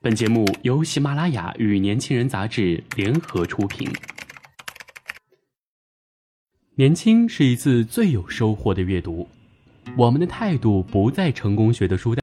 本节目由喜马拉雅与年轻人杂志联合出品。年轻是一次最有收获的阅读，我们的态度不在成功学的书单